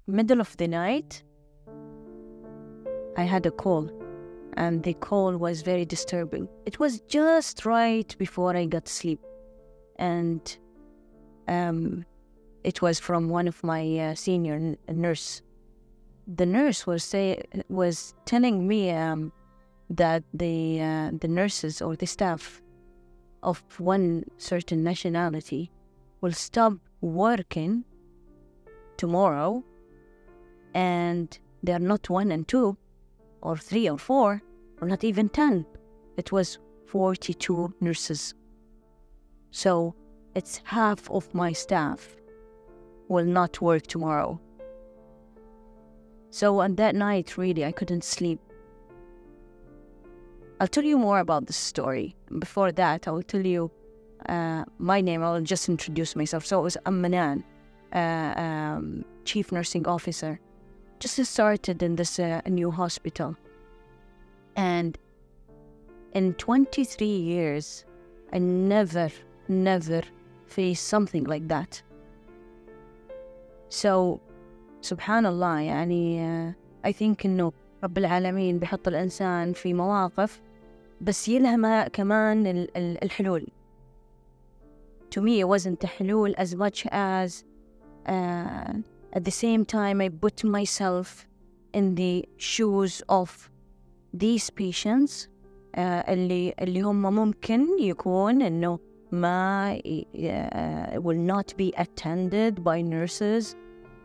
middle of the night, I had a call, and the call was very disturbing. It was just right before I got sleep, and it was from one of my senior nurse. The nurse was telling me that the nurses or the staff of one certain nationality will stop working tomorrow, and they are not 1 and 2 or 3 or 4 or not even 10. It was 42 nurses. So it's half of my staff will not work tomorrow. So on that night, really, I couldn't sleep. I'll tell you more about this story. Before that, I will tell you my name. I will just introduce myself. So it was Manan, Chief Nursing Officer. Just started in this new hospital. And in 23 years, I never faced something like that. So, subhanallah, يعني I think إنه رب العالمين بيحط الإنسان في مواقف بس يلهمها كمان الحلول. To me, it wasn't a حلول as much as at the same time I put myself in the shoes of these patients اللي هم ممكن يكون إنه ما will not be attended by nurses,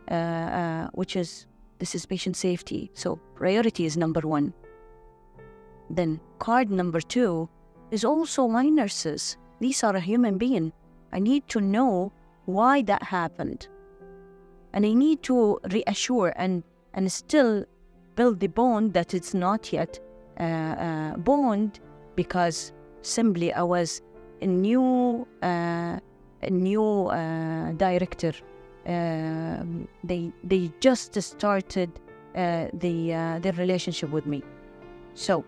this is patient safety. So priority is number 1. Then card number 2 is also my nurses. These are a human being. I need to know why that happened. And I need to reassure and still build the bond that it's not yet bond, because simply I was a new director. They just started their relationship with me. So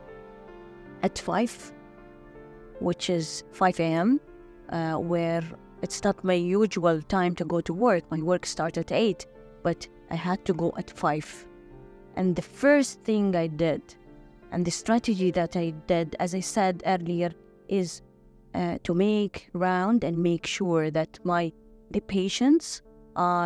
at 5, which is 5 a.m., where it's not my usual time to go to work. My work starts at 8, but I had to go at 5. And the first thing I did, and the strategy that I did, as I said earlier, is to make round and make sure that the patients are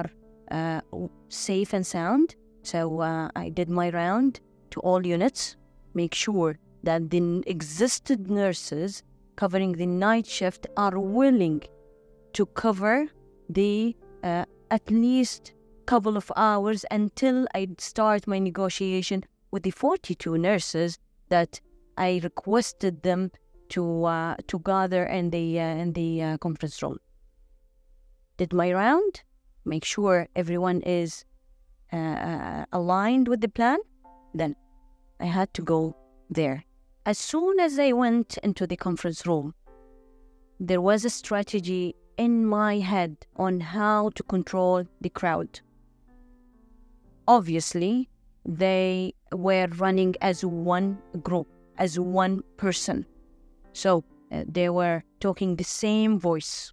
safe and sound. So I did my round to all units, make sure that the existed nurses covering the night shift are willing to cover the at least couple of hours until I start my negotiation with the 42 nurses that I requested them to gather in the conference room. Did my round, make sure everyone is aligned with the plan. Then I had to go there. As soon as I went into the conference room, there was a strategy in my head on how to control the crowd. Obviously, they were running as one group, as one person. So they were talking the same voice.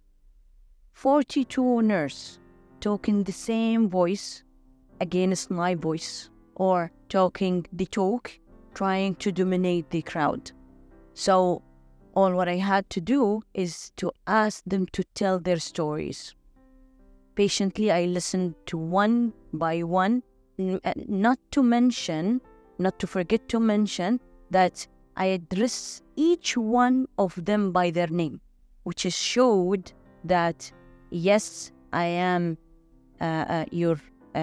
42 nurses talking the same voice against my voice, or talking the talk, trying to dominate the crowd. So all what I had to do is to ask them to tell their stories. Patiently, I listened to one by one, not to forget to mention that I address each one of them by their name, which is showed that, yes, I am your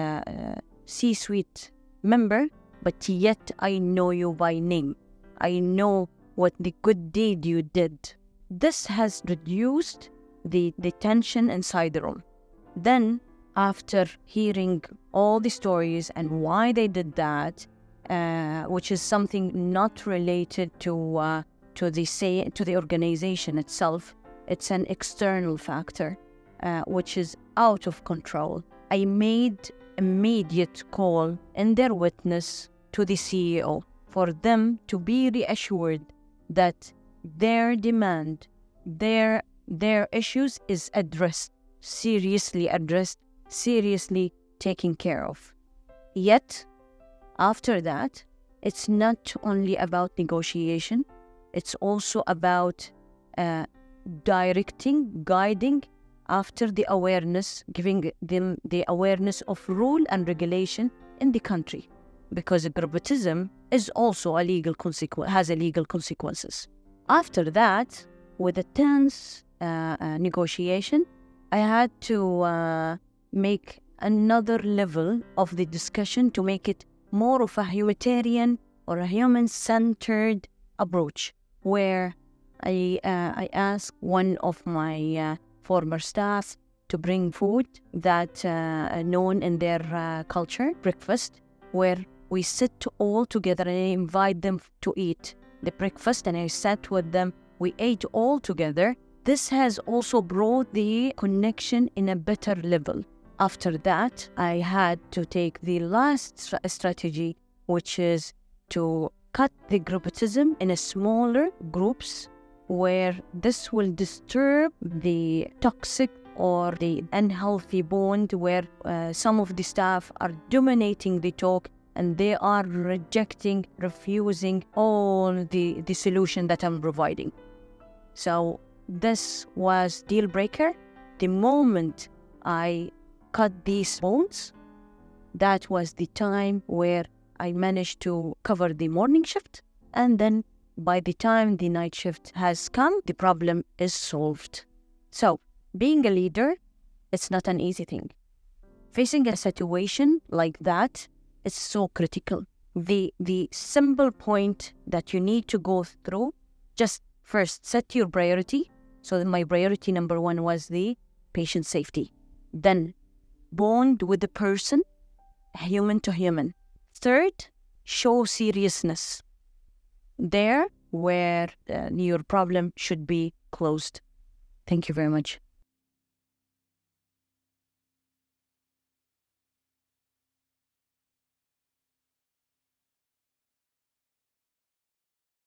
C-suite member, but yet I know you by name. I know what the good deed you did. This has reduced the tension inside the room. Then, after hearing all the stories and why they did that, which is something not related to the organization itself, it's an external factor, which is out of control. I made immediate call in their witness to the CEO for them to be reassured that their demand, their issues is seriously taken care of. Yet, after that, it's not only about negotiation, it's also about directing, guiding after the awareness, giving them the awareness of rule and regulation in the country. Because gurbatism is also a legal has a legal consequences. After that, with a tense negotiation, I had to make another level of the discussion to make it more of a humanitarian or a human-centered approach, where I asked one of my former staff to bring food that known in their culture, breakfast, where we sit all together and I invite them to eat the breakfast, and I sat with them. We ate all together. This has also brought the connection in a better level. After that, I had to take the last strategy, which is to cut the groupism in a smaller groups, where this will disturb the toxic or the unhealthy bond, where some of the staff are dominating the talk and they are rejecting, refusing all the solution that I'm providing. So this was deal breaker. The moment I cut these bonds, that was the time where I managed to cover the morning shift, and then by the time the night shift has come, the problem is solved. So being a leader, it's not an easy thing. Facing a situation like that is so critical. The simple point that you need to go through, just first set your priority. So my priority number one was the patient safety. Then bond with the person, human to human. Third, show seriousness. There where your problem should be closed. Thank you very much.